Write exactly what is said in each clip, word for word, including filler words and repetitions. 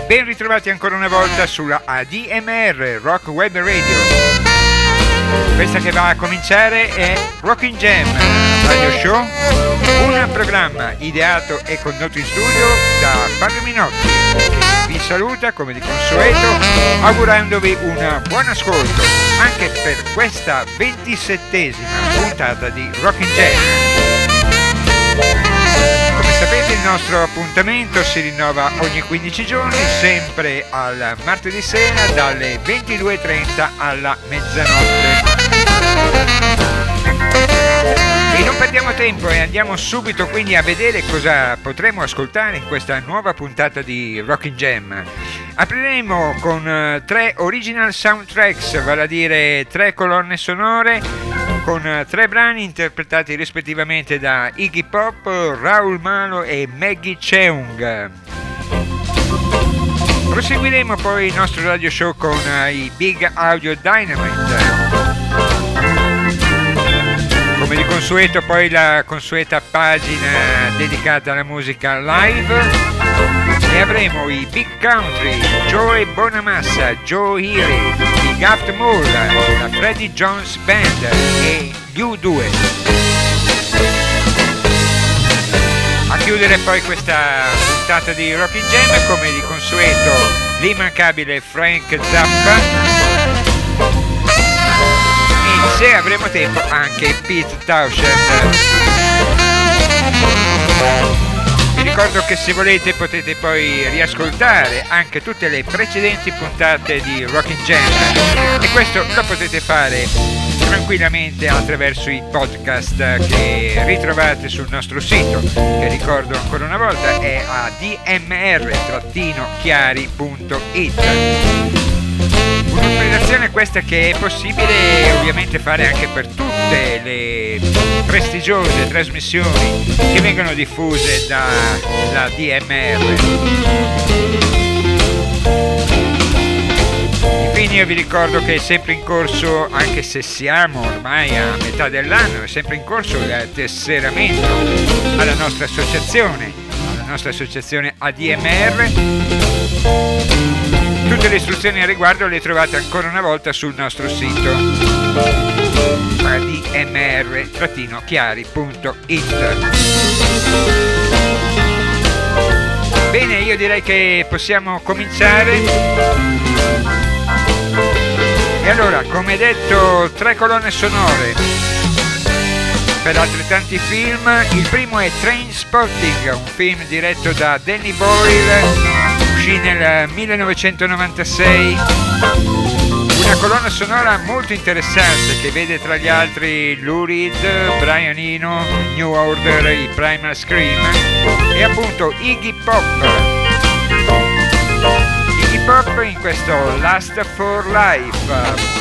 ben ritrovati ancora una volta sulla A D M R Rock Web Radio. Questa che va a cominciare è Rockin' Jam Radio Show, un programma ideato e condotto in studio da Fabio Minotti, che vi saluta come di consueto augurandovi un buon ascolto anche per questa ventisettesima puntata di Rockin' Jam. Come sapete, il nostro appuntamento si rinnova ogni quindici giorni, sempre al martedì sera dalle ventidue e trenta alla mezzanotte. E non perdiamo tempo e andiamo subito quindi a vedere cosa potremo ascoltare in questa nuova puntata di Rockin' Jam. Apriremo con uh, tre original soundtracks, vale a dire tre colonne sonore, con uh, tre brani interpretati rispettivamente da Iggy Pop, Raul Malo e Maggie Cheung. Proseguiremo poi il nostro radio show con uh, i Big Audio Dynamite. Come di consueto poi la consueta pagina dedicata alla musica live e avremo i Big Country, Joey Bonamassa, Joe Healy, i Gaft Moore, la Freddie Jones Band e gli U due. A chiudere poi questa puntata di Rockin' Jam, come di consueto, l'immancabile Frank Zappa. Se avremo tempo anche Pete Townshend. Vi ricordo che se volete potete poi riascoltare anche tutte le precedenti puntate di Rockin' Jam e questo lo potete fare tranquillamente attraverso i podcast che ritrovate sul nostro sito, che ricordo ancora una volta è a d m r chiari punto i t. Un'operazione questa che è possibile ovviamente fare anche per tutte le prestigiose trasmissioni che vengono diffuse dalla D M R. Infine io vi ricordo che è sempre in corso, anche se siamo ormai a metà dell'anno, è sempre in corso il tesseramento alla nostra associazione, alla nostra associazione A D M R. Tutte le istruzioni al riguardo le trovate ancora una volta sul nostro sito a d m r chiari punto i t. Bene, io direi che possiamo cominciare. E allora, come detto, tre colonne sonore per altrettanti film. Il primo è Trainspotting, un film diretto da Danny Boyle, uscì nel millenovecentonovantasei, una colonna sonora molto interessante che vede tra gli altri Lou Reed, Brian Eno, New Order, i Primal Scream e appunto Iggy Pop. Iggy Pop in questo Last for Life.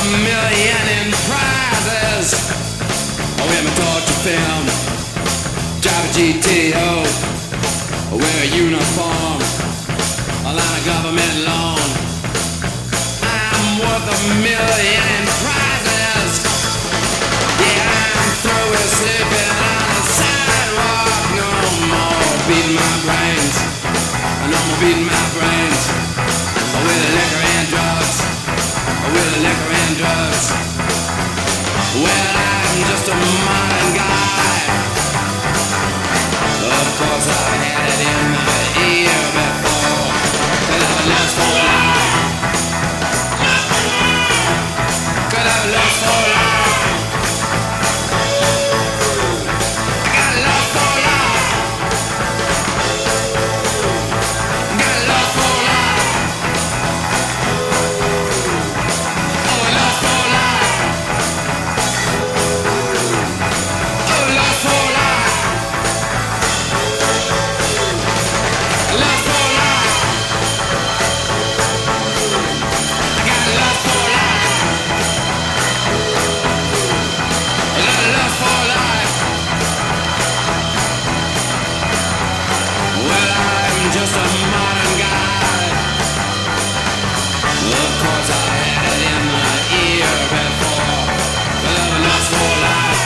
million in prizes. Wear my torture film, drive a G T O, wear a uniform, a line of government loan. I'm worth a million in prizes. Yeah, I'm through with sleeping on the sidewalk. No more beating my brains, no more beating my brains with liquor and drugs, with liquor and drugs. Well, I'm just a modern guy. Of course I had it in my ear before, could have lost for life, could have lost for life. I got lost for life, got lost for life. Oh, lost for life. Oh, lost for life. Lost for life. I got lost for life. Lost for life. Well, I'm just a modern guy. Of course I had it in my ear before, but I'm lost for life.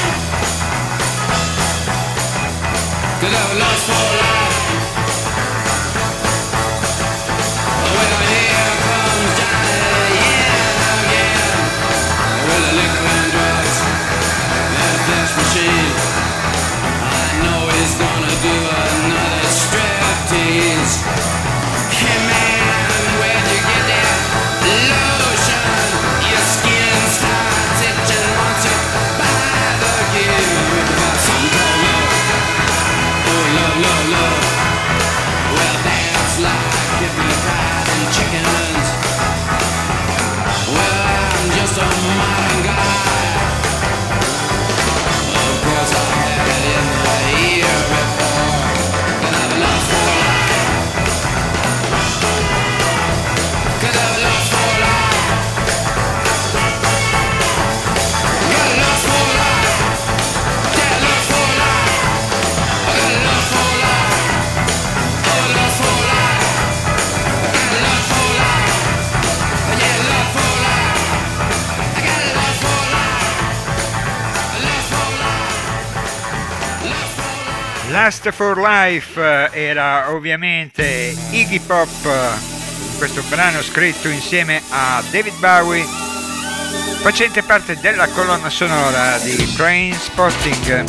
Cause I'm lost for life. Well, here comes Johnny yeah, again, with the liquor and drugs and a flesh machine. I know he's gonna do another striptease. Hey man, where'd you get that lotion? Your skin starts itching once you buy the gear. Got some called love. Oh, love, love, love. Well, that's like hypnotizing chickens. Well, I'm just a modern guy. Of course I had it in the ear before, but I've lost for life. Cause I've lost for life. Got lost for life. Yeah, lost for life. I got lost for life. Oh, lost for life. I got lost for life. Yeah, lost for life. I got lost for life. Lost for life. Lost for life. Last for Life eh, era ovviamente Iggy Pop, eh, questo brano scritto insieme a David Bowie, facente parte della colonna sonora di Trainspotting.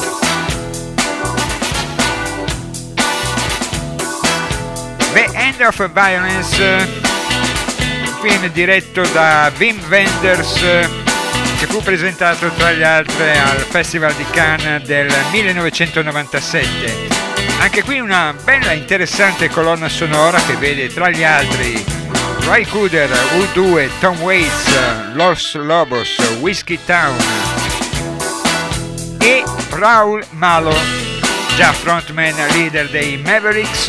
The End of Violence, un film diretto da Wim Wenders, eh, che fu presentato tra gli altri al Festival di Cannes del millenovecentonovantasette. Anche qui una bella interessante colonna sonora che vede tra gli altri Ray Cooder, U due, Tom Waits, Los Lobos, Whiskey Town e Raul Malo, già frontman leader dei Mavericks.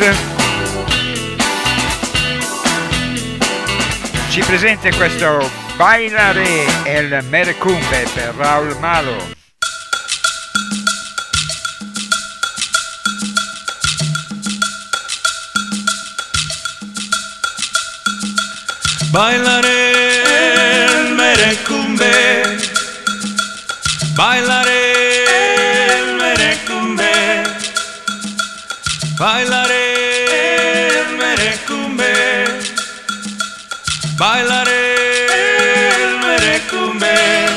Ci presenta questo Bailare el Merecumbe per Raul Malo. Bailaré el merecumbe, bailaré el merecumbe, bailaré el merecumbe, bailaré el merecumbe.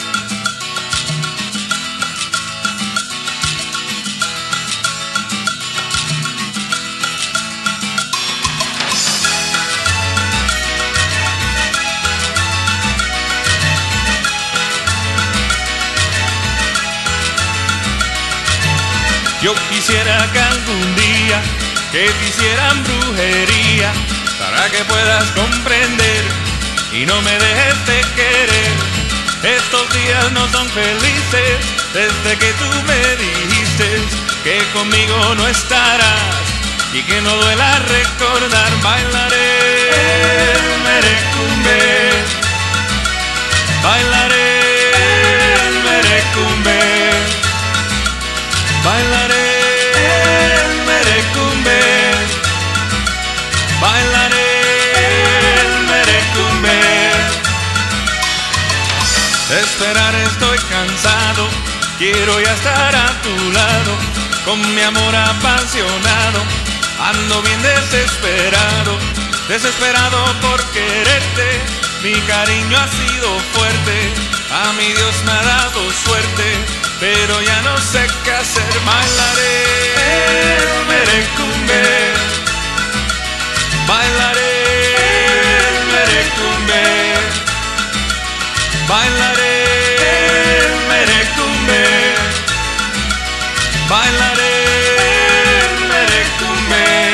Yo quisiera que algún día que te hicieran brujería para que puedas comprender y no me dejes de querer. Estos días no son felices desde que tú me dijiste que conmigo no estarás y que no duela recordar. Bailaré el merecumbe, bailaré esperar estoy cansado, quiero ya estar a tu lado, con mi amor apasionado, ando bien desesperado, desesperado por quererte, mi cariño ha sido fuerte, a mi Dios me ha dado suerte, pero ya no sé qué hacer, bailaré el merecumbe, bailaré el merecumbe, bailaré el merecumbe, bailaré el merecumbe.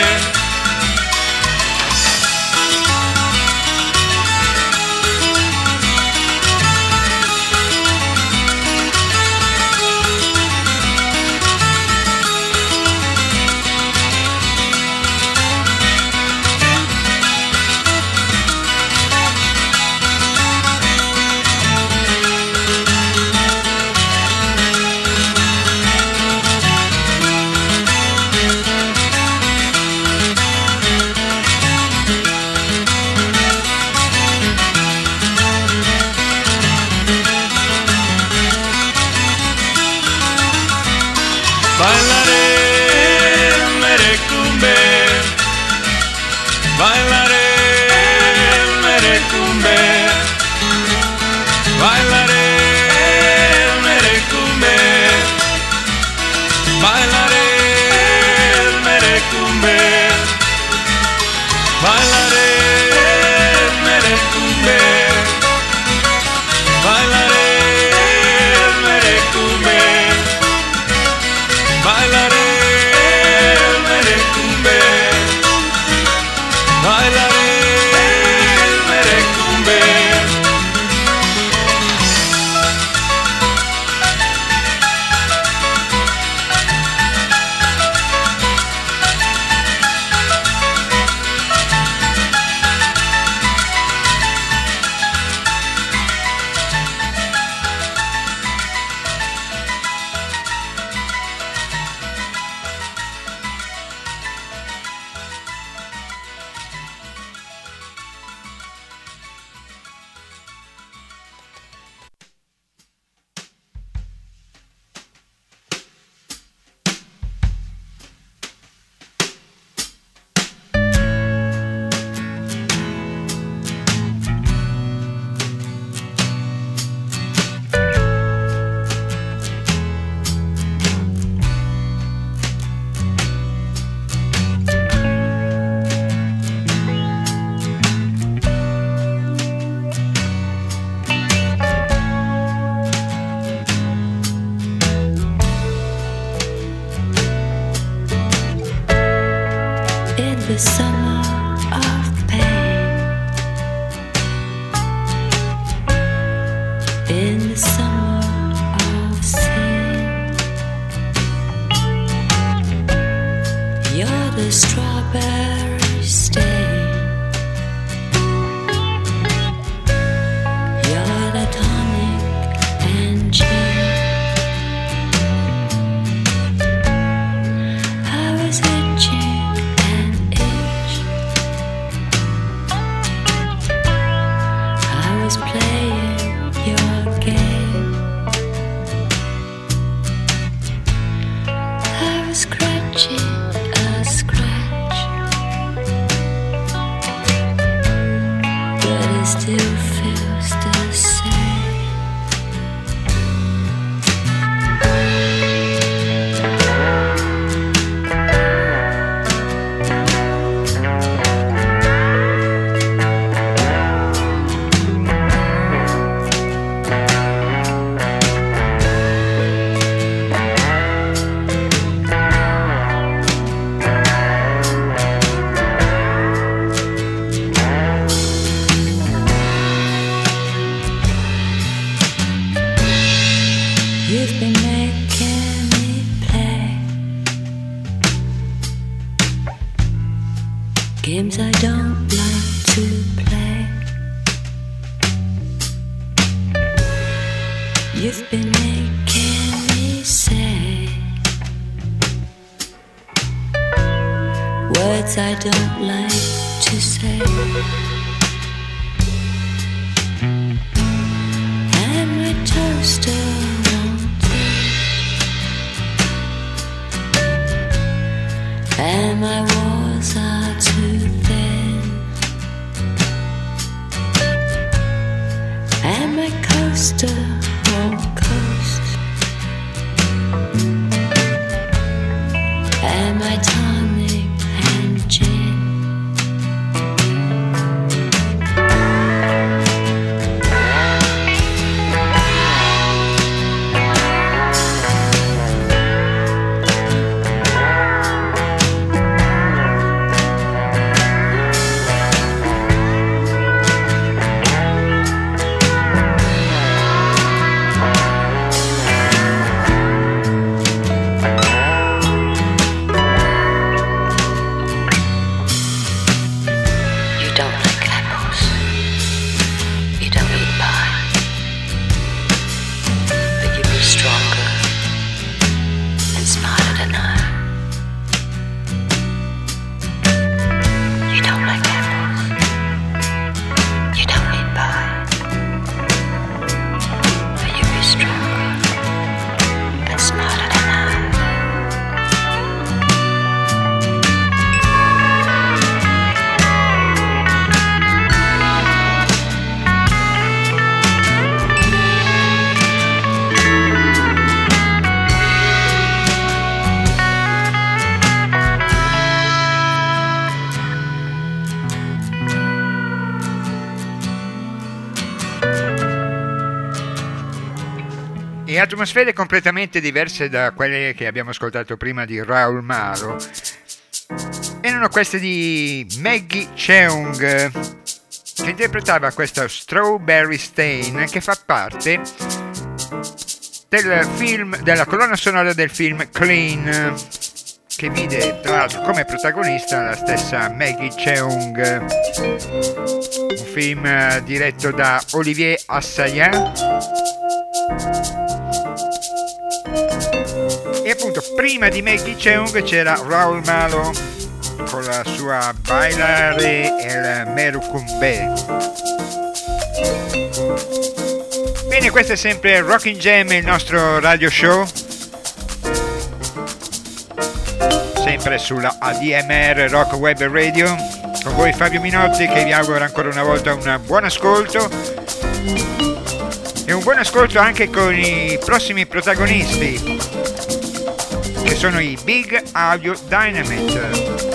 The summer of pain, in the summer of sin, you're the strawberry stain, you're the tonic and gin. I was itching. Playing your game. I was scratching a scratch, but it still feels the same. You've been making me play games I don't like to play. You've been making me say words I don't like to say. And my tongue and my walls are too thin, and my coaster won't coast, and my tonic and gin. E atmosfere completamente diverse da quelle che abbiamo ascoltato prima di Raoul Malo erano queste di Maggie Cheung, che interpretava questa Strawberry Stain, che fa parte del film, della colonna sonora del film Clean, che vide tra l'altro come protagonista la stessa Maggie Cheung, un film diretto da Olivier Assayas. E appunto prima di Maggie Cheung c'era Raoul Malo con la sua Bailare el Merucumbe. Bene, questo è sempre Rockin' Jam, il nostro radio show, sempre sulla A D M R Rock Web Radio, con voi Fabio Minotti, che vi auguro ancora una volta un buon ascolto e un buon ascolto anche con i prossimi protagonisti, che sono i Big Audio Dynamite,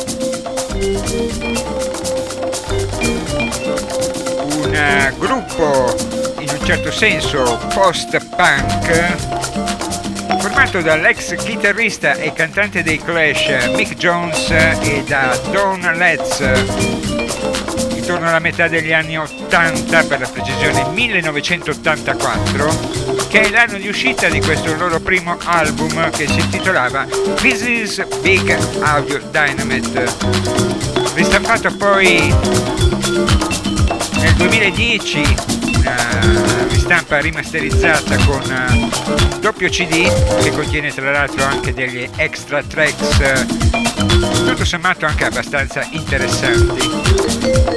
un uh, gruppo in un certo senso post-punk formato dall'ex chitarrista e cantante dei Clash Mick Jones e da Don Letts, intorno alla metà degli anni ottanta, per la precisione millenovecentottantaquattro, che è l'anno di uscita di questo loro primo album che si intitolava This is Big Audio Dynamite, ristampato poi nel duemiladieci, una ristampa rimasterizzata con un doppio C D che contiene tra l'altro anche degli extra tracks tutto sommato anche abbastanza interessanti.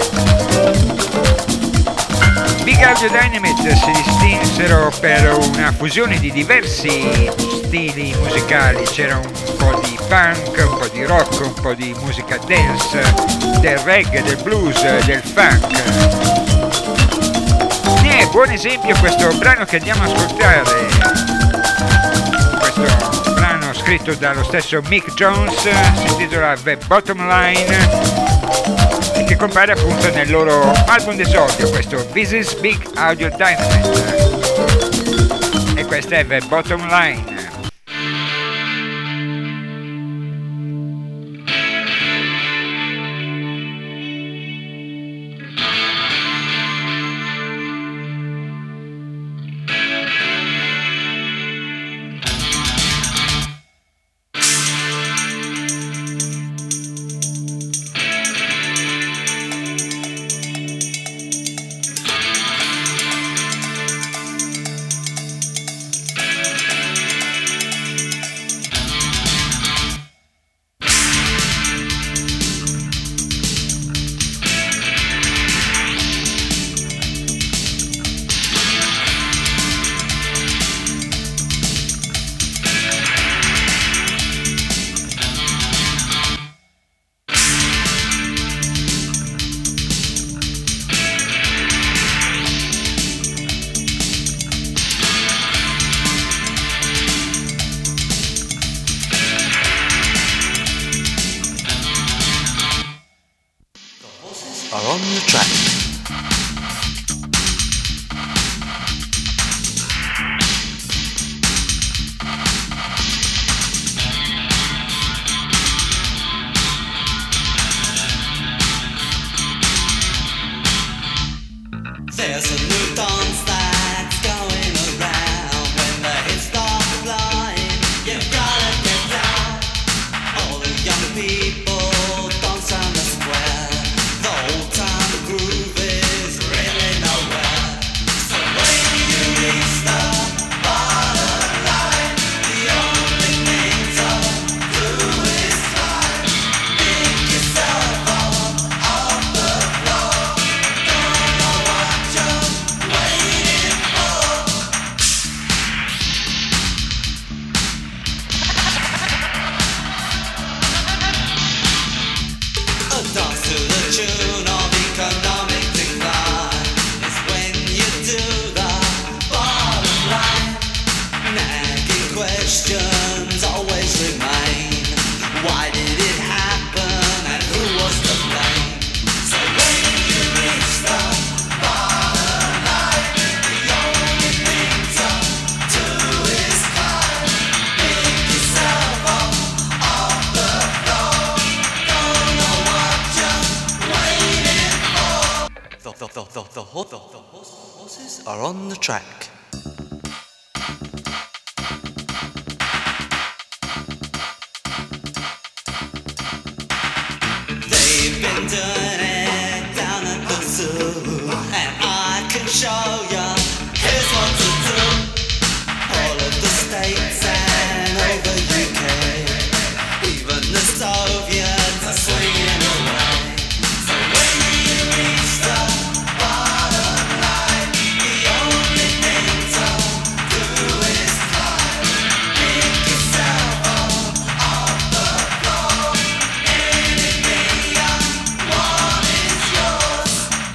Big Audio Dynamite si distinsero per una fusione di diversi stili musicali, c'era un po' di punk, un po' di rock, un po' di musica dance, del reggae, del blues, del funk. Ne è buon esempio questo brano che andiamo a ascoltare, questo brano scritto dallo stesso Mick Jones, si intitola The Bottom Line, che compare appunto nel loro album d'esordio, questo This is Big Audio Dynamite, e questa è The Bottom Line. There's a new dance that's going around. When the hits start flying, you've gotta get down. All the young people dance on the square. The old time groove is really nowhere. So when you reach the bottom line, the only thing to do is climb. Pick yourself up off the floor. Don't know what you're waiting for. A dance to the tune of economic decline is when you do the bottom line. Nagging questions always remain. Why did it happen and who was to blame? So when you reach the bottom line, the only thing to do is climb. Pick yourself up off the floor. Don't know what you're waiting for. The, the, the, the, the, ho- the, the horse- horses are on the track. They've been doing it down at the zoo, and I can show ya. Here's what to do. All of the states and over U K, even the Soviets are swinging away. So when you reach the bottom line, the only thing to do is climb. Pick yourself up off the floor. Anything you want is yours.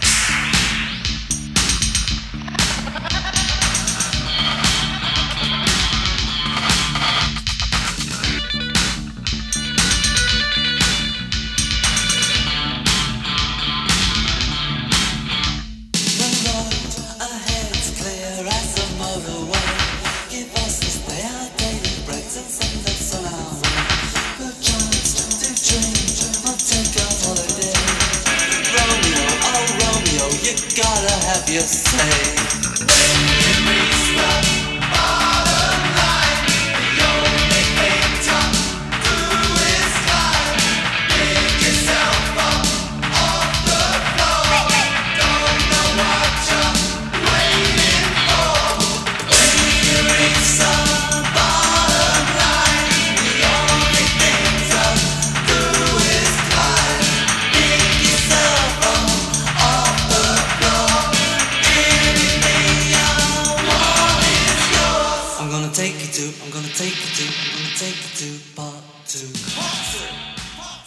The road ahead's clear as a motorway. Give us the stay our daily breaks and send us on our way. The chance to dream or take a holiday. Romeo, oh Romeo, you gotta have your say. When you reach the bottom line, the only thing to do is climb. Pick yourself up off the floor. Don't know what you're waiting for. When you reach the bottom line, the only thing to do is climb. Pick yourself up off the floor. Anything you want is yours. I'm gonna take you to, I'm gonna take you to, I'm gonna take you to part two. Part two. Part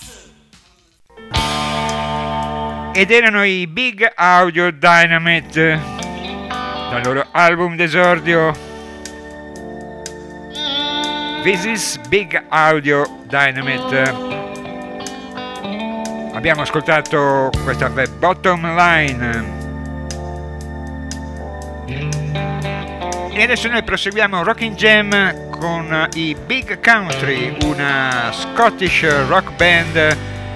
two. Ed erano i Big Audio Dynamite dal loro album d'esordio This is Big Audio Dynamite. Abbiamo ascoltato questa The Bottom Line e adesso noi proseguiamo Rockin' Jam con i Big Country, una Scottish rock band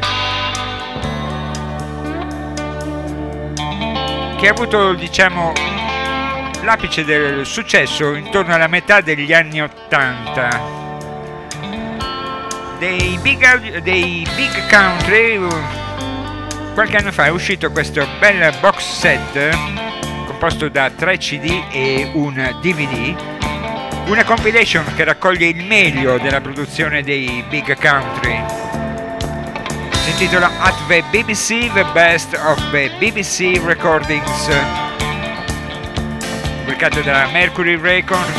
che ha avuto, diciamo, l'apice del successo intorno alla metà degli anni ottanta. Dei Big, Audio, dei Big Country qualche anno fa è uscito questo bel box set composto da tre C D e un D V D, una compilation che raccoglie il meglio della produzione dei Big Country. Si intitola At the B B C, The Best of the B B C Recordings, pubblicato da Mercury Records,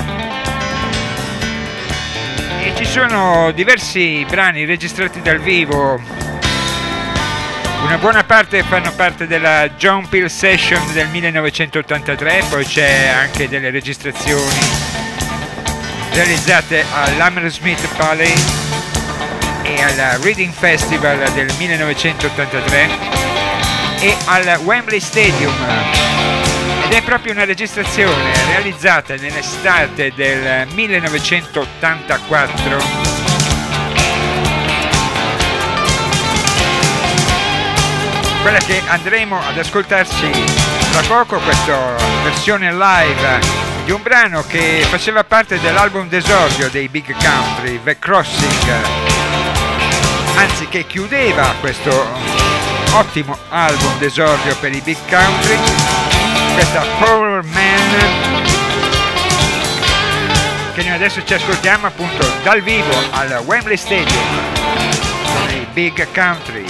e ci sono diversi brani registrati dal vivo. Una buona parte fanno parte della John Peel Session del millenovecentottantatré, poi c'è anche delle registrazioni realizzate all'Hammersmith Valley e al Reading Festival del millenovecentottantatré e al Wembley Stadium, ed è proprio una registrazione realizzata nell'estate del millenovecentottantaquattro. quella che andremo ad ascoltarci tra poco, questa versione live di un brano che faceva parte dell'album d'esordio dei Big Country, The Crossing, anzi che chiudeva questo ottimo album d'esordio per i Big Country, questa Power Man, che noi adesso ci ascoltiamo appunto dal vivo al Wembley Stadium con i Big Country.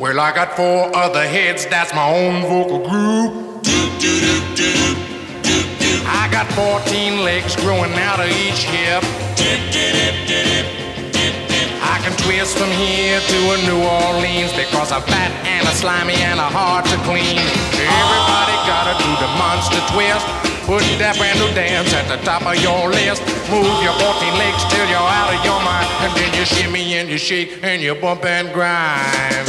Well, I got four other heads, that's my own vocal group. I got fourteen legs growing out of each hip. I can twist from here to a New Orleans because I'm fat and a slimy and a hard to clean. Everybody gotta do the monster twist. Put that brand new dance at the top of your list. Move your fourteen legs till you're out of your mind. And then you shimmy and you shake and you bump and grind.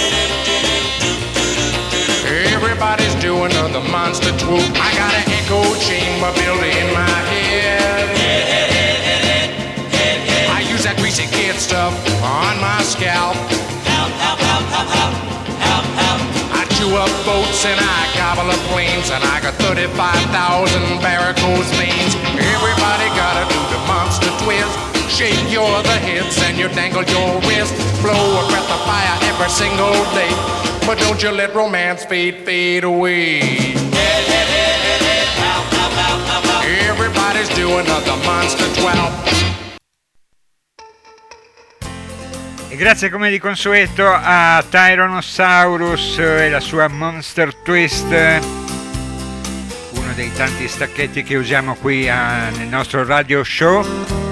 Everybody's doing the monster swoop. I got an echo chamber built in my head. I use that greasy kid stuff on my scalp. Help, help, help, help, help, help, help. I chew up boats and I gobble up planes, and I got thirty-five thousand varicose veins. Everybody gotta do the monster twist. Shake your other hips and you dangle your wrist. Blow a breath of fire every single day. But don't you let romance fade, fade away. Everybody's doing the monster twelve. E grazie come di consueto a Tyrannosaurus e la sua Monster Twist, uno dei tanti stacchetti che usiamo qui a, nel nostro radio show.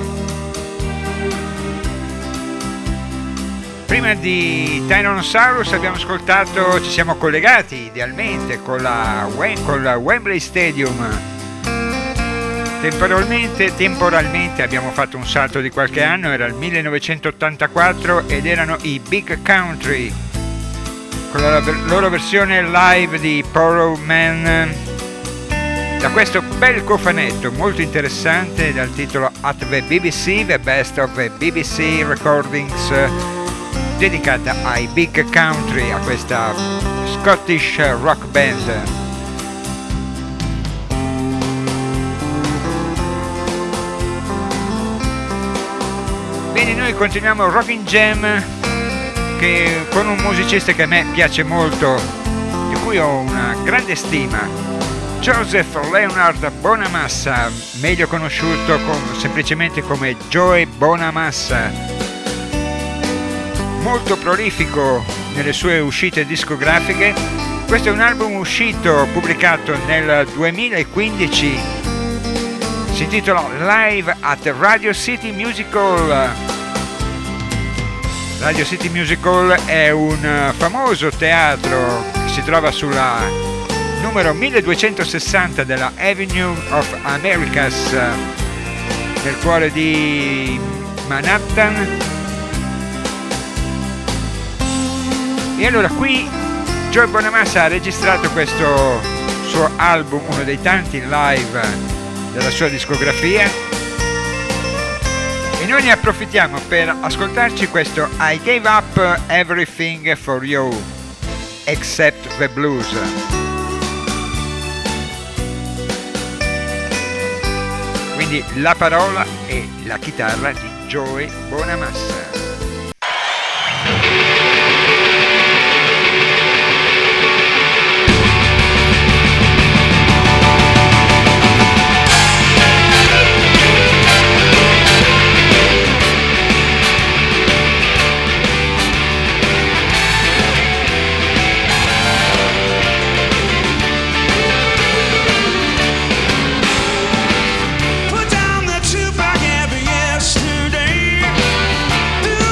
Prima di Tyrannosaurus abbiamo ascoltato, ci siamo collegati idealmente con la, con la Wembley Stadium. Temporalmente, temporalmente abbiamo fatto un salto di qualche anno, era il millenovecentottantaquattro ed erano i Big Country con la loro versione live di Porrow Man, da questo bel cofanetto molto interessante dal titolo At the B B C, The Best of the B B C Recordings, dedicata ai Big Country, a questa Scottish rock band. Bene, noi continuiamo Rockin' Jam che, con un musicista che a me piace molto, di cui ho una grande stima, Joseph Leonard Bonamassa, meglio conosciuto com- semplicemente come Joey Bonamassa. Molto prolifico nelle sue uscite discografiche. Questo è un album uscito, pubblicato nel duemilaquindici, si intitola Live at Radio City Musical. Radio City Musical è un famoso teatro che si trova sulla numero milleduecentosessanta della Avenue of Americas, nel cuore di Manhattan. E allora qui Joey Bonamassa ha registrato questo suo album, uno dei tanti live della sua discografia, e noi ne approfittiamo per ascoltarci questo I Gave Up Everything for You Except the Blues. Quindi la parola e la chitarra di Joey Bonamassa. Put down the tube I gave you yesterday.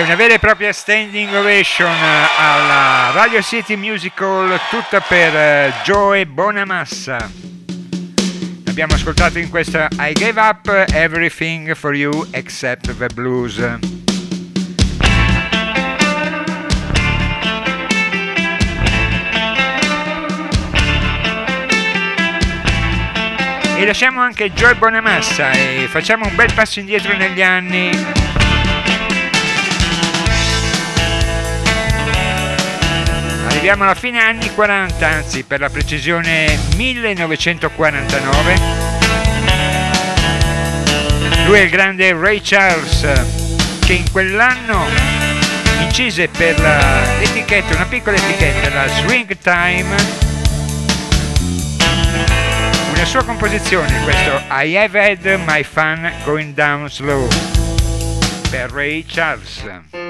Una vera e propria standing ovation alla Radio City Music Hall, tutta per Joe Bonamassa. Abbiamo ascoltato in questa I Gave Up Everything for You Except the Blues. E lasciamo anche Joe Bonamassa e facciamo un bel passo indietro negli anni. Arriviamo alla fine anni quaranta, anzi per la precisione millenovecentoquarantanove. Lui è il grande Ray Charles, che in quell'anno incise per la, l'etichetta, una piccola etichetta, la Swing Time, una sua composizione, questo I Have Had My Fun Going Down Slow, per Ray Charles.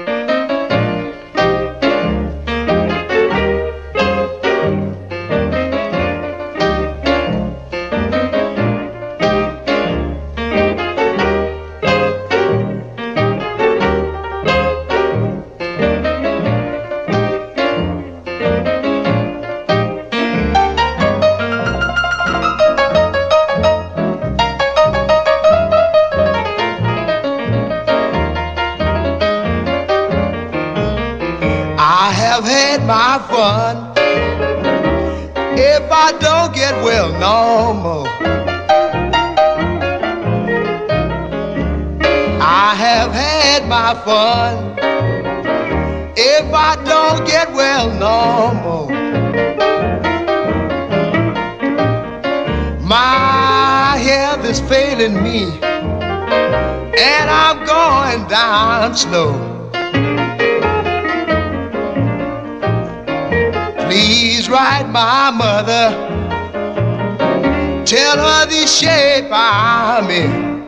My fun if I don't get well no more. I have had my fun if I don't get well no more. My health is failing me and I'm going down slow. Please write my mother, tell her the shape I'm in.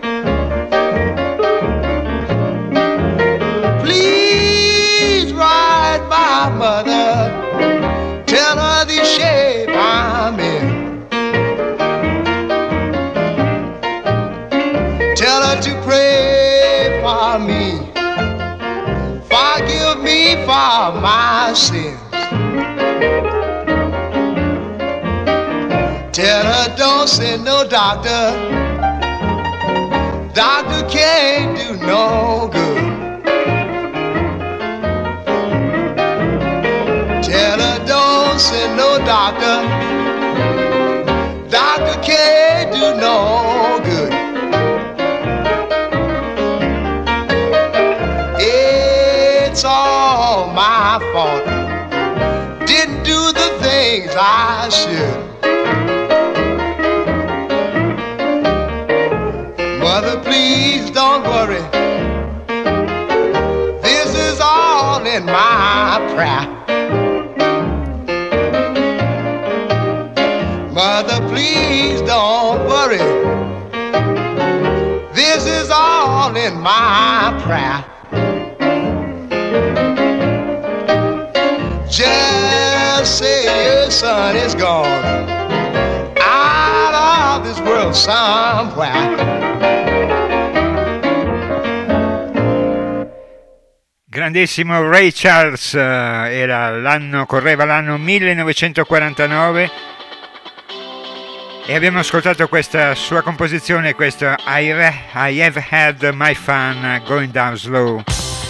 Please write my mother, tell her the shape I'm in. Tell her to pray for me, forgive me for my sins. Tell her don't send no doctor, doctor can't do no good. Tell her don't send no doctor, doctor can't do no good. It's all my fault, didn't do the things I should. Mother, please don't worry, this is all in my prayer. Mother, please don't worry, this is all in my prayer. Just say your son is gone out of this world somewhere. Grandissimo Ray Charles, era l'anno, correva l'anno millenovecentoquarantanove e abbiamo ascoltato questa sua composizione, questo I, I Have Had My Fun Going Down Slow.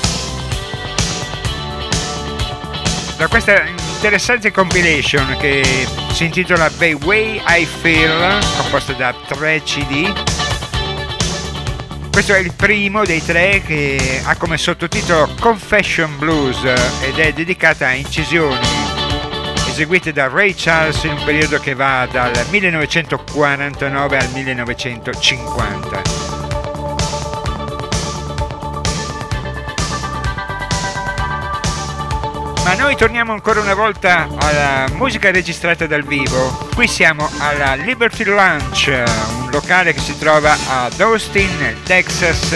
Da questa interessante compilation che si intitola The Way I Feel, composta da tre C D. Questo è il primo dei tre che ha come sottotitolo Confession Blues ed è dedicata a incisioni eseguite da Ray Charles in un periodo che va dal millenovecentoquarantanove al millenovecentocinquanta. Ma noi torniamo ancora una volta alla musica registrata dal vivo. Qui siamo alla Liberty Lounge, un locale che si trova ad Austin, nel Texas.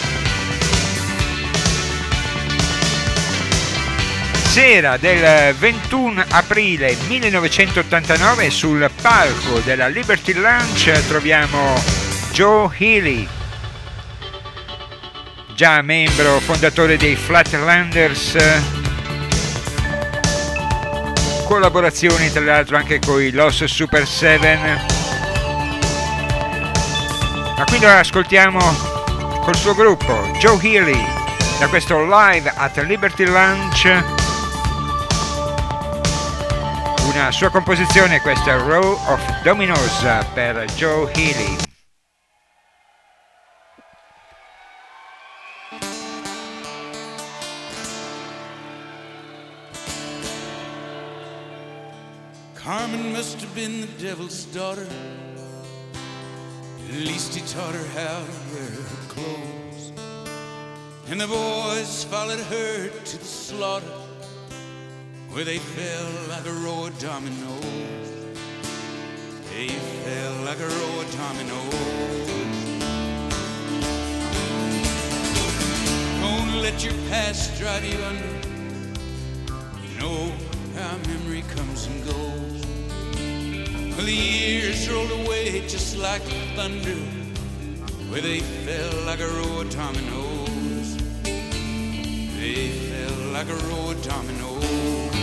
Sera del ventuno aprile millenovecentottantanove, sul palco della Liberty Lounge troviamo Joe Healy. già membro fondatore dei Flatlanders, collaborazioni tra l'altro anche con i Los Super Seven. Ma qui lo ascoltiamo col suo gruppo Joe Healy da questo Live at Liberty Lounge, una sua composizione, questa Row of Dominoes per Joe Healy. Carmen must have been the devil's daughter. At least he taught her how to wear her clothes. And the boys followed her to the slaughter, where they fell like a row of dominoes. They fell like a row of dominoes. Don't let your past drive you under. You know how memory comes and goes. Well, the years rolled away just like thunder, where they fell like a row of dominoes. They fell like a row of dominoes.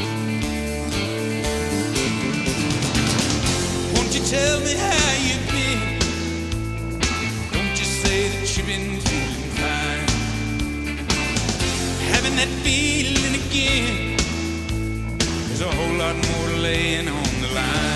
Won't you tell me how you've been? Don't you say that you've been feeling fine? Having that feeling again. There's a whole lot more laying on the line.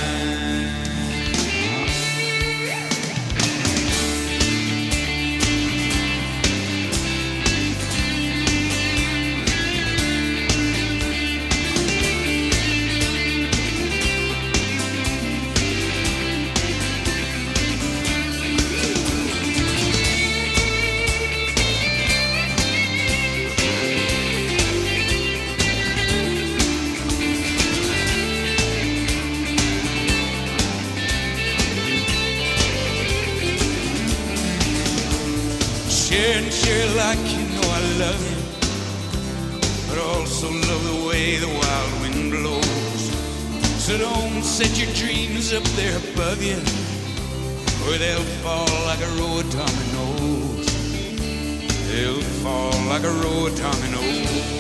Share and share like you know I love you, but also love the way the wild wind blows. So don't set your dreams up there above you, or they'll fall like a row of dominoes. They'll fall like a row of dominoes.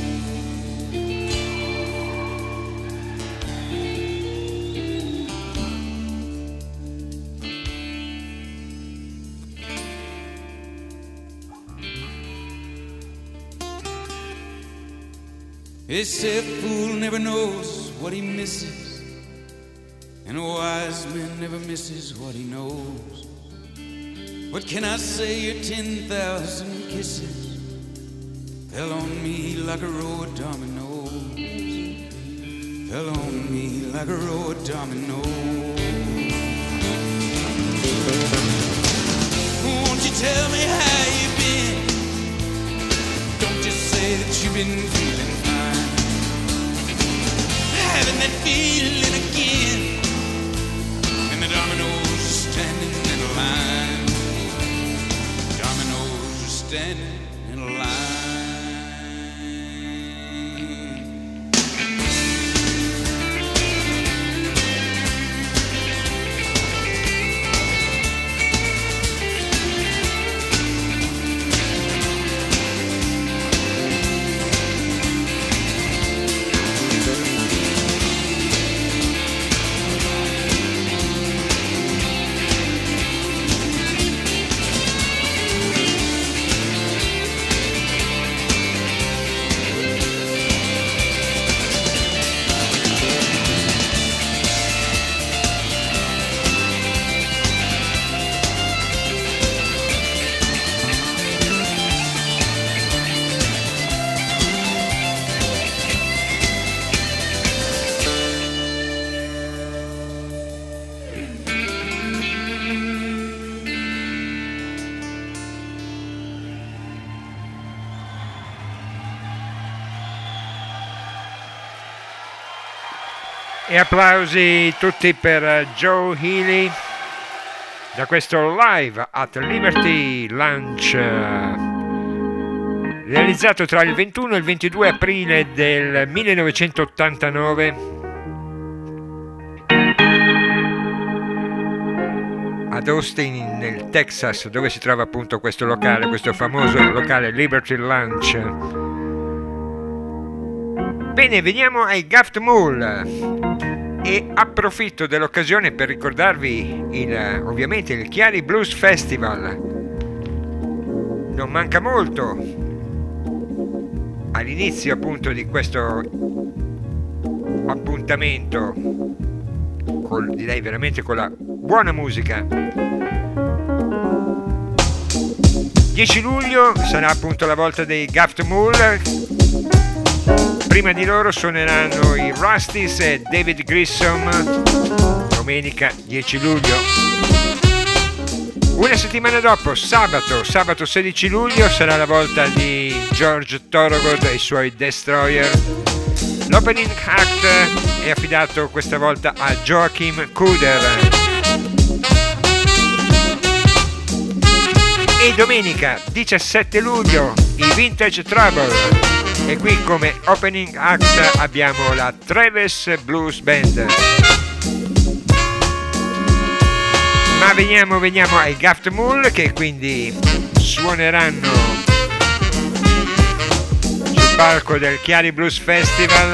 They say a fool never knows what he misses, and a wise man never misses what he knows. What can I say? Your ten thousand kisses fell on me like a row of dominoes. Fell on me like a row of dominoes. Won't you tell me how you've been? Don't just say that you've been feeling fine. Having that feeling again, and the dominoes are standing in a line. Dominoes are standing in a line. E applausi tutti per Joe Healy da questo Live at Liberty Lounge realizzato tra il ventuno e il ventidue aprile del millenovecentottantanove ad Austin nel Texas, dove si trova appunto questo locale, questo famoso locale Liberty Lunch. Bene, veniamo ai Gaff Mule e approfitto dell'occasione per ricordarvi il, ovviamente il Chiari Blues Festival. Non manca molto all'inizio appunto di questo appuntamento, con, direi veramente con la buona musica. dieci luglio sarà appunto la volta dei Gaff Mule. Prima di loro suoneranno i Rusties e David Grissom domenica dieci luglio. Una settimana dopo, sabato, sabato sedici luglio, sarà la volta di George Thorogood e i suoi Destroyer. L'opening act è affidato questa volta a Joachim Kuder. E domenica diciassette luglio i Vintage Trouble. E qui come opening act abbiamo la Travis Blues Band. Ma veniamo, veniamo ai Gaff Mule, che quindi suoneranno sul palco del Chiari Blues Festival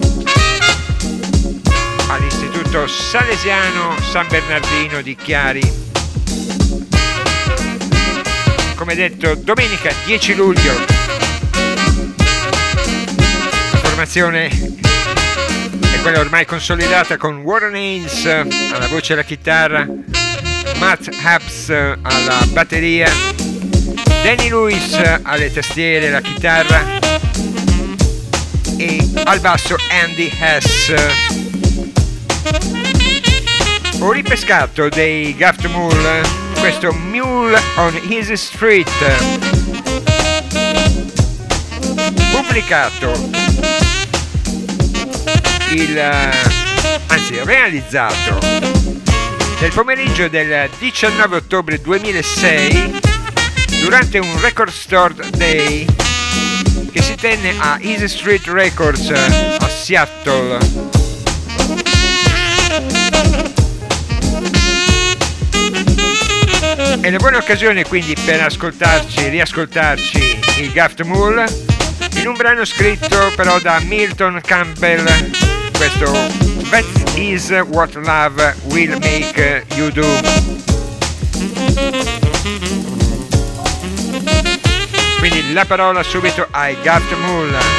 all'Istituto Salesiano San Bernardino di Chiari. Come detto, domenica dieci luglio. La formazione è quella ormai consolidata con Warren Haynes alla voce e alla chitarra, Matt Habs alla batteria, Danny Lewis alle tastiere e la chitarra e al basso Andy Hess. Ho ripescato dei Gaff Mule questo Mule on Easy Street, pubblicato il anzi realizzato nel pomeriggio del diciannove ottobre duemilasei durante un Record Store Day che si tenne a Easy Street Records a Seattle. È una buona occasione quindi per ascoltarci, riascoltarci il Gaff Mule in un brano scritto però da Milton Campbell, questo That is what love will make you do. Quindi la parola subito ai Gaff Mule.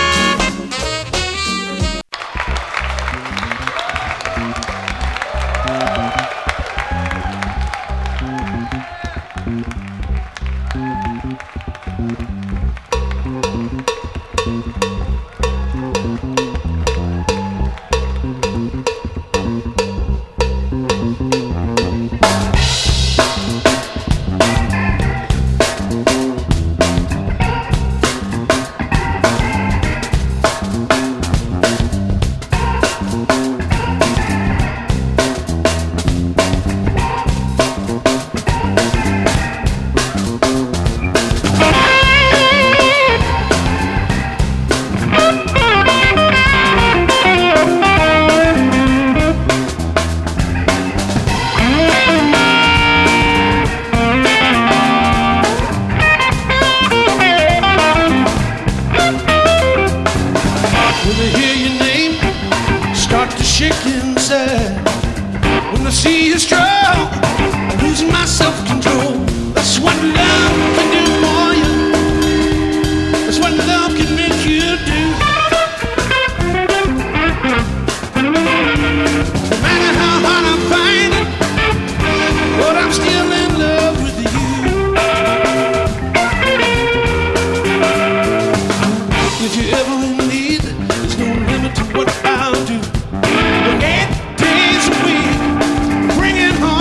Bringing home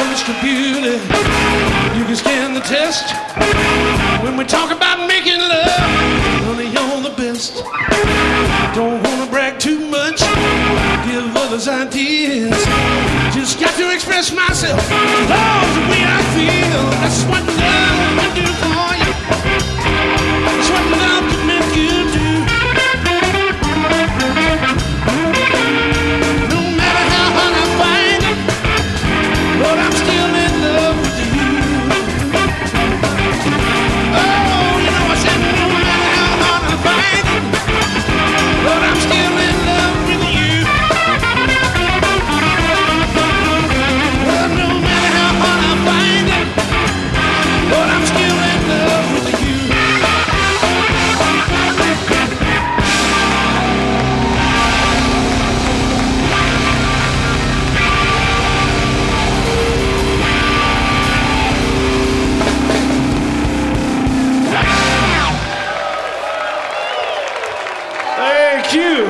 Mister Beauty, you can stand the test. When we talk about making love, honey, you're the best. Don't wanna brag too much, give others ideas. Just got to express myself, love the way I feel. That's what love can do for you. That's what love can make you do. No matter how hard I find it, but I'm still in love with you. Oh, you know I said no matter how hard I find it, but I'm still in love with you. Well, no matter how hard I find it, but I'm still in love with you. Thank you.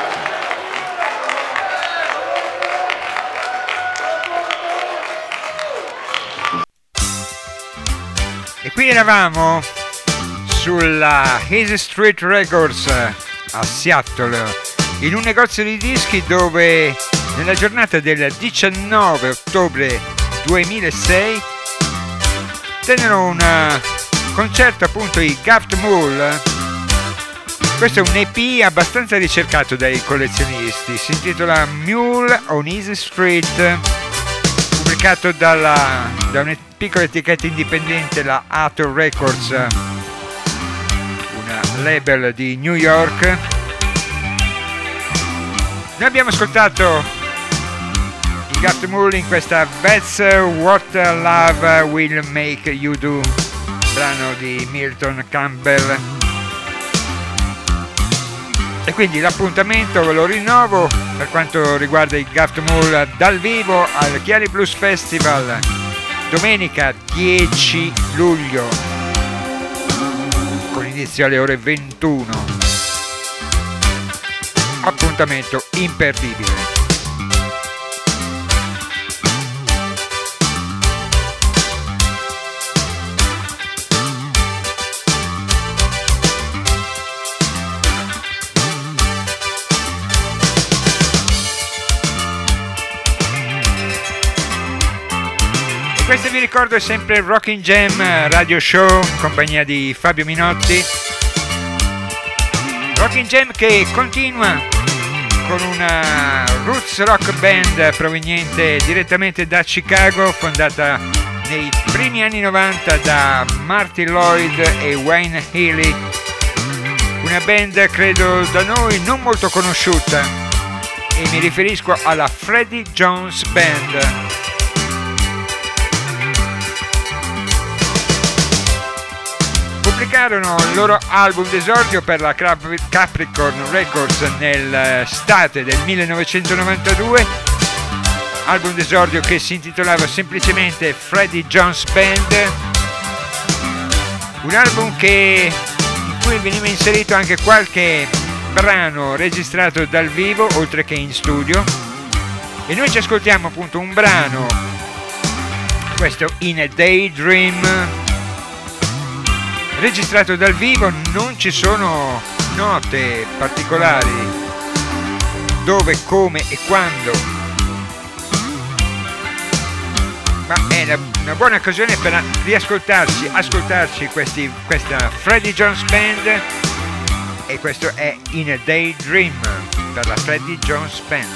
E qui eravamo sulla Easy Street Records a Seattle, in un negozio di dischi dove nella giornata del diciannove ottobre duemilasei tennero un concerto appunto i Daft Mule. Questo è un E P abbastanza ricercato dai collezionisti, si intitola Mule on Easy Street, pubblicato dalla, da una piccola etichetta indipendente, la Ator Records, una label di New York. Noi abbiamo ascoltato i Daft Mule in questa That's What Love Will Make You Do, brano di Milton Campbell. E quindi l'appuntamento ve lo rinnovo per quanto riguarda i Daft Mule dal vivo al Chiari Blues Festival domenica dieci luglio con inizio alle ore ventuno. Appuntamento imperdibile. Questo vi ricordo è sempre il Rockin' Jam Radio Show in compagnia di Fabio Minotti. Rockin' Jam che continua con una roots rock band proveniente direttamente da Chicago, fondata nei primi anni novanta da Marty Lloyd e Wayne Healy. Una band credo da noi non molto conosciuta e mi riferisco alla Freddie Jones Band. Pubblicarono il loro album d'esordio per la Capricorn Records nell'estate del millenovecentonovantadue, album d'esordio che si intitolava semplicemente Freddie Jones Band, un album che, in cui veniva inserito anche qualche brano registrato dal vivo oltre che in studio, e noi ci ascoltiamo appunto un brano, questo In a Daydream, registrato dal vivo. Non ci sono note particolari dove, come e quando, ma è una, una buona occasione per riascoltarci, ascoltarci questi, questa Freddie Jones Band, e questo è In a Daydream per la Freddie Jones Band.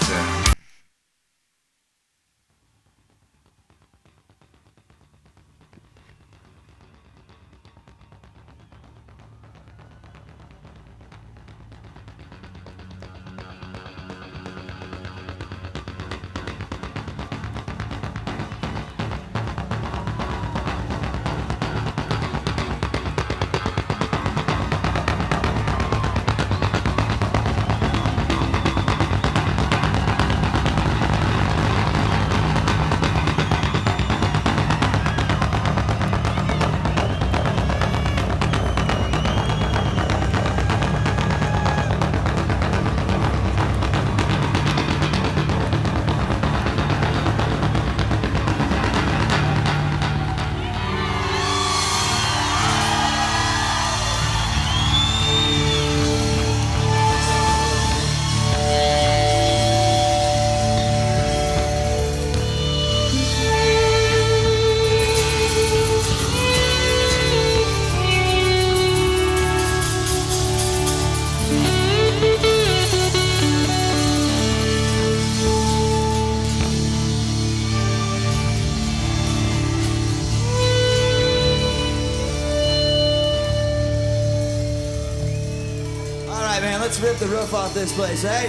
let's rip the roof off this place, eh?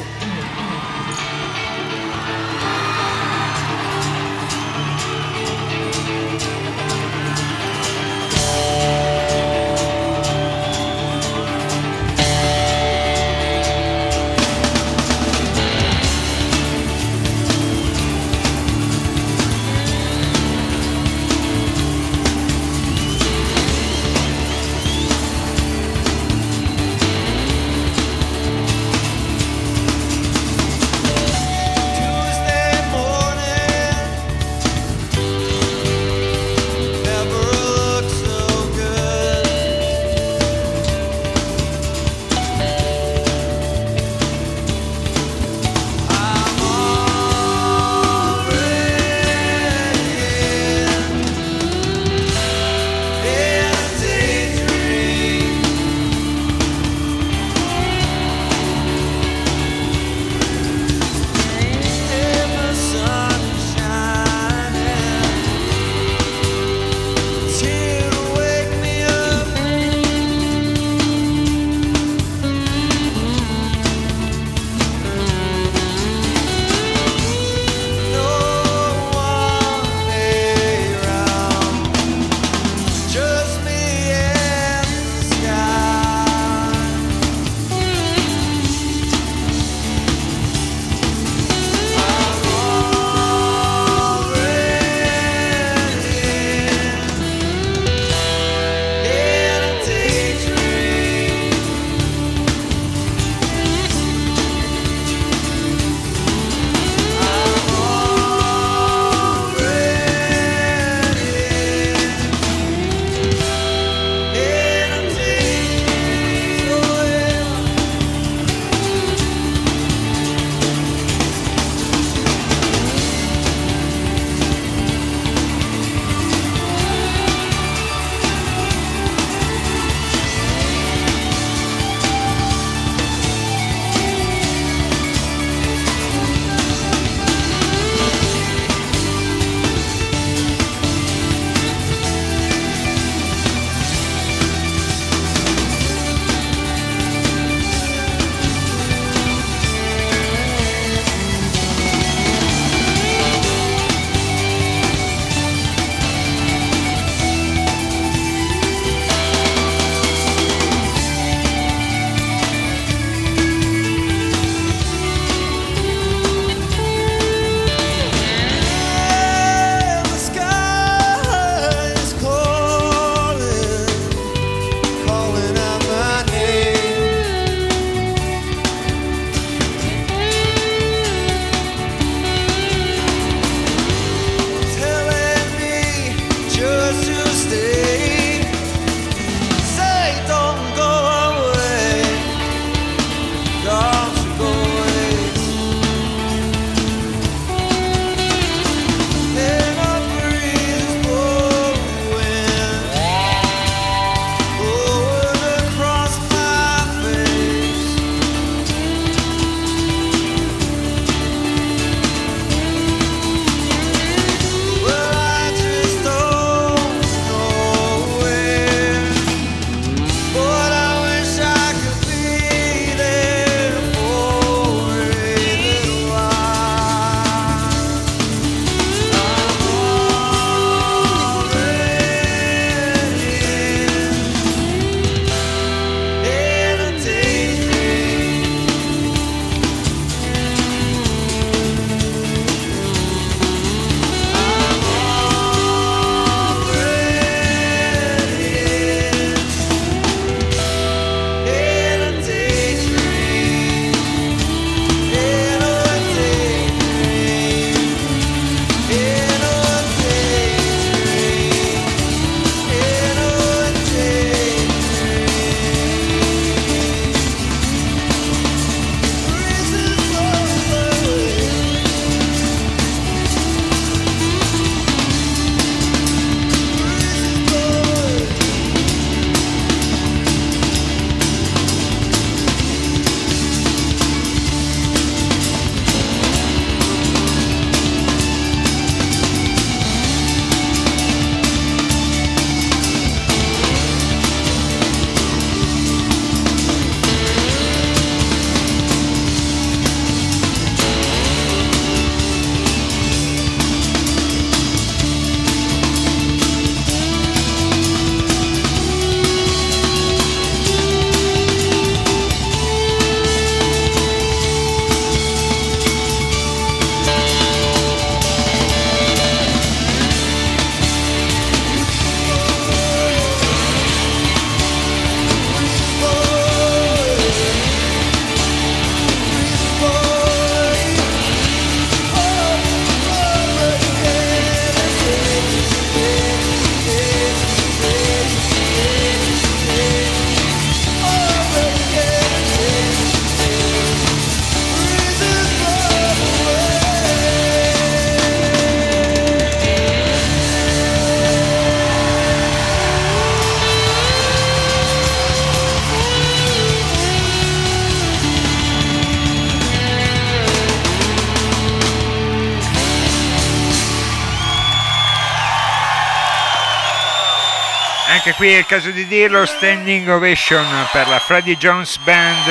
Anche qui è il caso di dirlo, standing ovation per la Freddie Jones Band,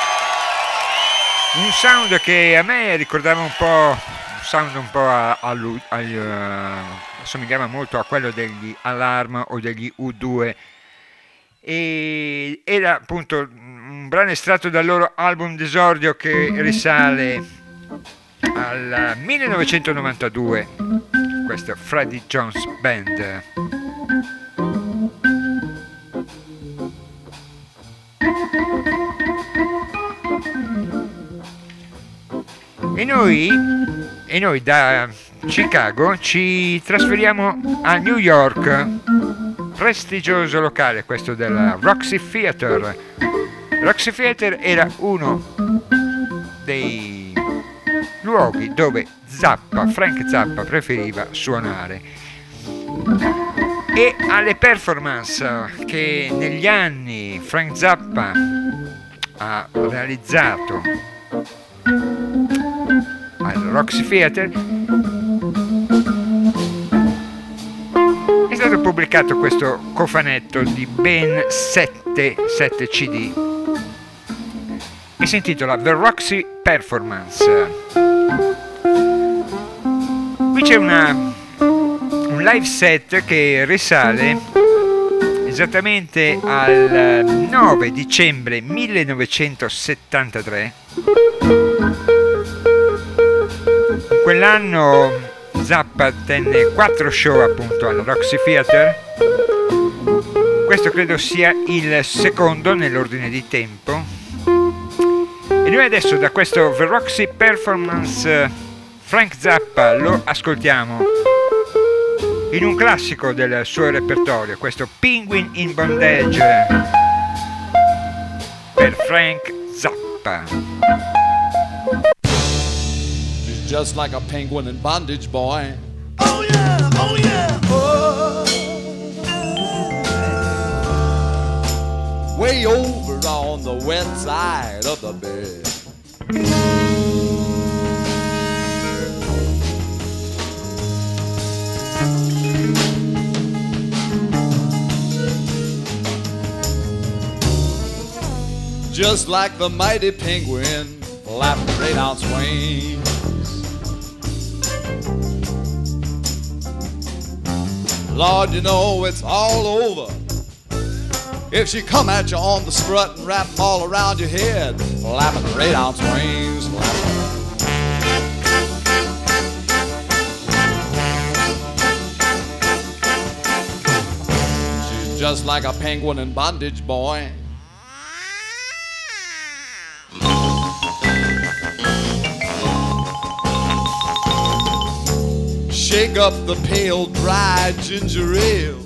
un sound che a me ricordava un po', un sound un po' a, a, a, a, assomigliava molto a quello degli Alarm o degli U due, e era appunto un brano estratto dal loro album d'esordio che risale al millenovecentonovantadue, questa Freddie Jones Band. E noi, e noi da Chicago ci trasferiamo a New York, prestigioso locale questo della Roxy Theater. Roxy Theater era uno dei luoghi dove Zappa, Frank Zappa, preferiva suonare, e alle performance che negli anni Frank Zappa ha realizzato al Roxy Theater è stato pubblicato questo cofanetto di ben sette C D e si intitola The Roxy Performance. Qui c'è una, un live set che risale esattamente al nove dicembre millenovecentosettantatré. In quell'anno Zappa tenne quattro show appunto al Roxy Theater. Questo credo sia il secondo nell'ordine di tempo. E noi adesso da questo The Roxy Performance Frank Zappa lo ascoltiamo in un classico del suo repertorio, questo Penguin in Bondage per Frank Zappa. She's just like a penguin in bondage, boy. Oh yeah, oh yeah, oh. Way over on the west side of the bed. Just like the mighty penguin flapping great out wings. Lord, you know it's all over if she come at you on the strut and wrap all around your head, flapping great out wings. She's just like a penguin in bondage, boy. Shake up the pale, dry ginger ale.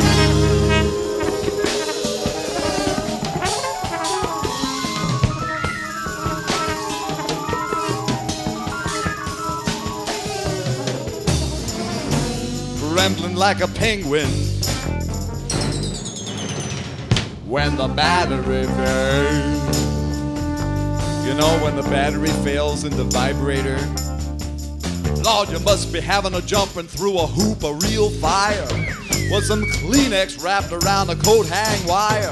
Trembling like a penguin when the battery fails. You know when the battery fails in the vibrator? Lord, you must be having a jumping through a hoop of real fire with some Kleenex wrapped around a coat hang wire.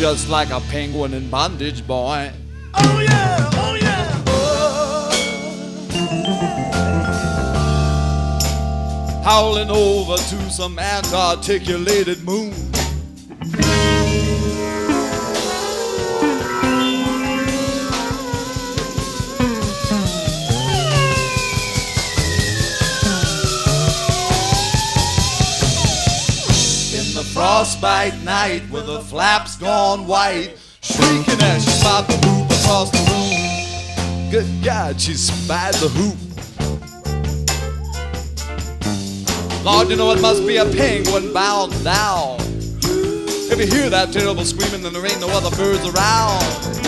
just like a penguin in bondage, boy. Oh yeah, oh yeah, oh. Howling over to some unarticulated moon. Frostbite night with the flaps gone white, shrieking as she spied the hoop across the room. Good God, she spied the hoop. Lord, you know it must be a penguin bound down. If you hear that terrible screaming, then there ain't no other birds around.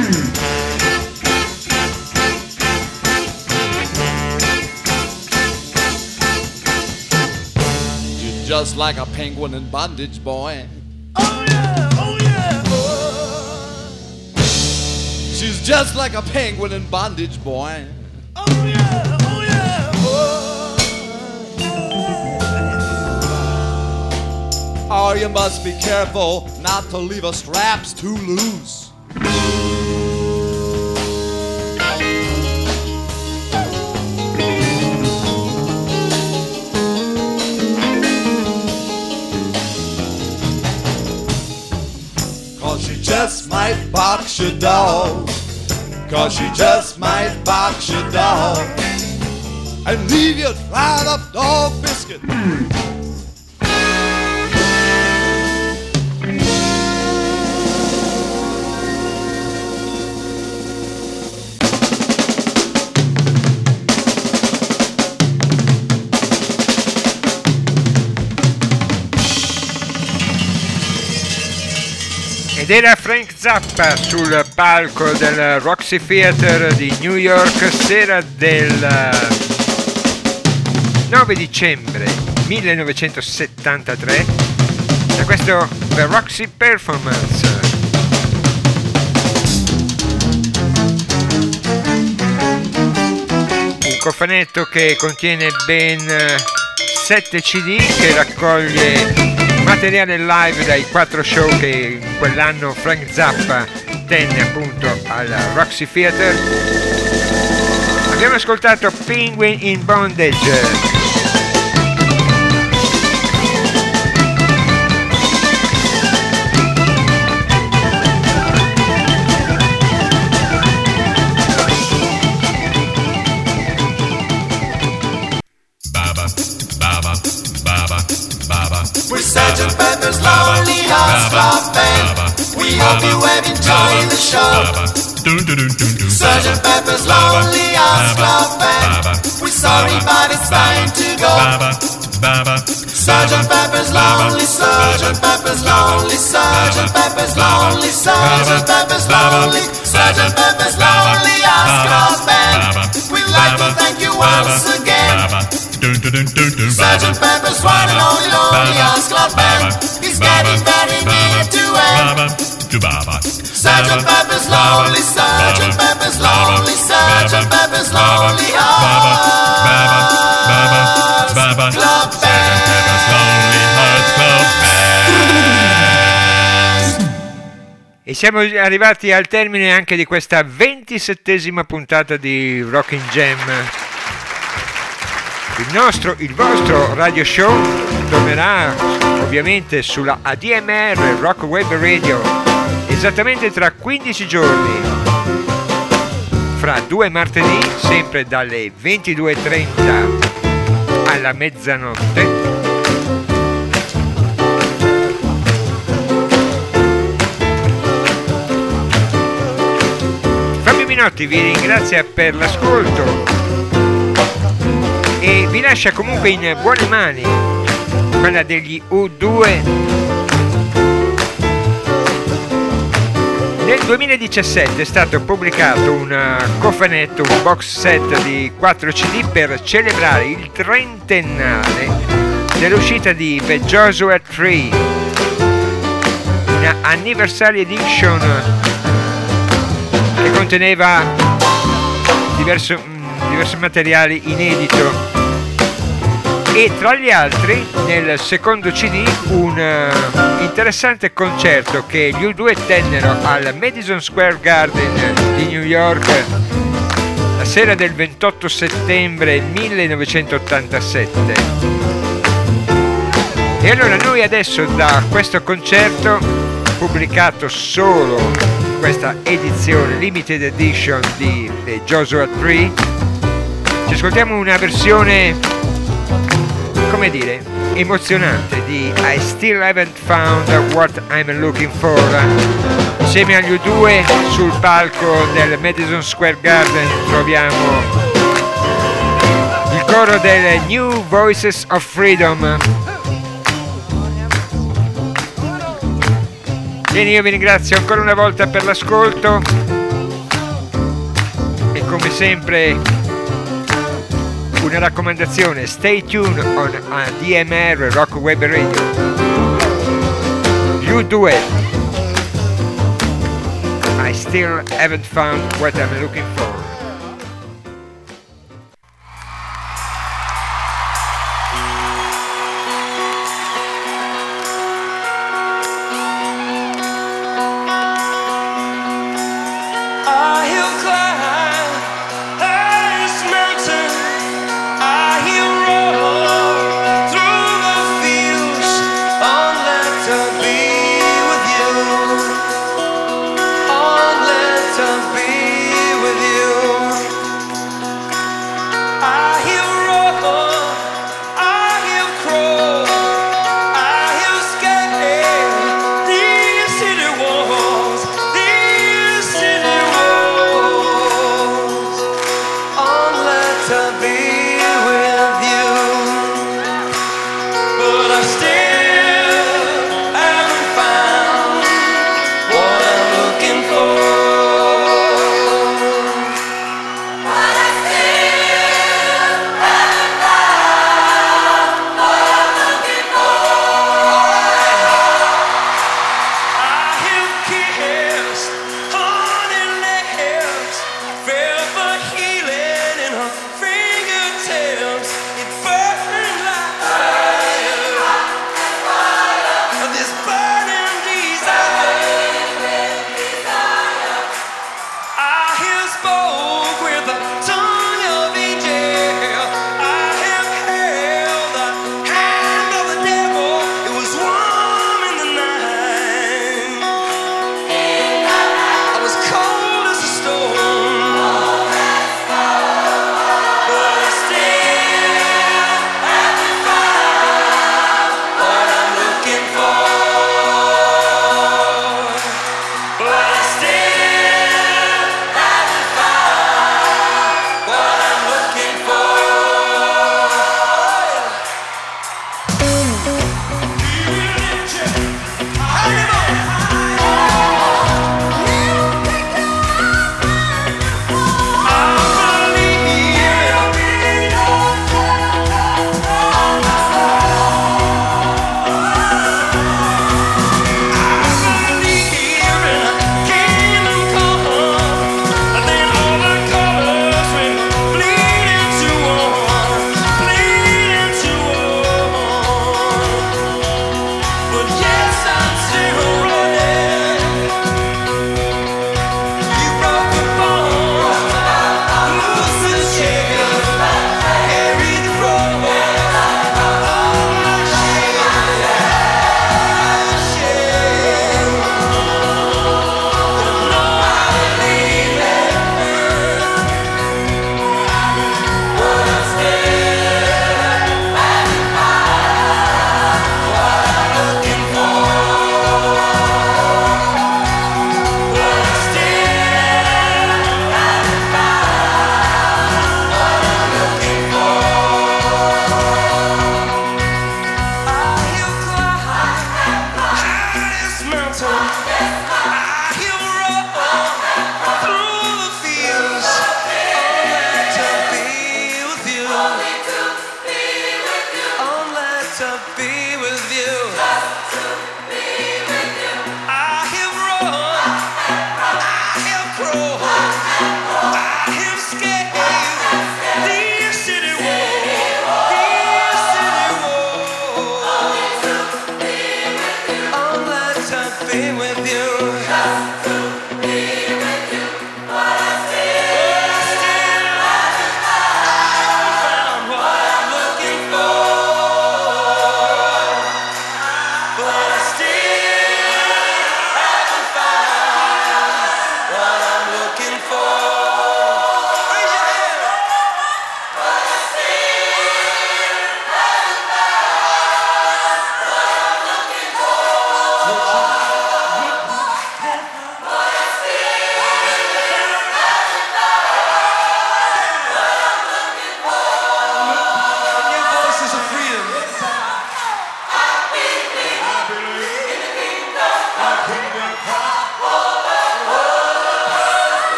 Just like a penguin in bondage, boy. Oh yeah, oh yeah, oh. She's just like a penguin in bondage, boy. Oh yeah, oh yeah, oh. Oh, you must be careful not to leave her straps too loose. She just might box your dog. Cause she just might box your dog and leave you dried up dog biscuit. Ed era Frank Zappa sul palco del Roxy Theater di New York, sera del nove dicembre millenovecentosettantatré, da questo The Roxy Performance. Un cofanetto che contiene ben sette C D, che raccoglie materiale live dai quattro show che in quell'anno Frank Zappa tenne appunto al Roxy Theater. Abbiamo ascoltato Penguin in Bondage. We're Sergeant Pepper's Lonely Hearts Club Band. We hope you have enjoyed the show. Sergeant Pepper's Lonely Hearts Club Band. We're sorry, but it's time to go. Sergeant Pepper's Lonely, Sergeant Pepper's Lonely, Sergeant Pepper's Lonely, Sergeant Pepper's Lonely, Sergeant Pepper's Lonely Hearts Club Band. We'd like to thank you once again. Sergeant Pepper's one and only Lonely Hearts Club Band is getting very near to end. Sergeant Pepper's Lonely, Sergeant Pepper's Lonely, Sergeant Pepper's Lonely Hearts Club Band. E siamo arrivati al termine anche di questa ventisettesima puntata di Rockin' Jam. Il nostro, il vostro radio show tornerà ovviamente sulla A D M R Rock Web Radio esattamente tra quindici giorni, fra due martedì, sempre dalle ventidue e trenta alla mezzanotte. Fabio Minotti vi ringrazia per l'ascolto e vi lascia comunque in buone mani, quella degli U due. Nel duemiladiciassette è stato pubblicato un cofanetto, un box set di quattro C D per celebrare il trentennale dell'uscita di The Joshua Tree, una anniversary edition che conteneva diverso diversi materiali inedito E tra gli altri, nel secondo C D, un uh, interessante concerto che gli U due tennero al Madison Square Garden di New York la sera del ventotto settembre millenovecentottantasette. E allora noi adesso da questo concerto, pubblicato solo in questa edizione limited edition di eh, Joshua Tree, ci ascoltiamo una versione, come dire, emozionante di I Still Haven't Found What I'm Looking For. Insieme agli U due sul palco del Madison Square Garden troviamo il coro delle New Voices of Freedom. Bene, io vi ringrazio ancora una volta per l'ascolto e come sempre una raccomandazione: stay tuned on A D M R Rock Web Radio. U due, I still haven't found what I'm looking for. To be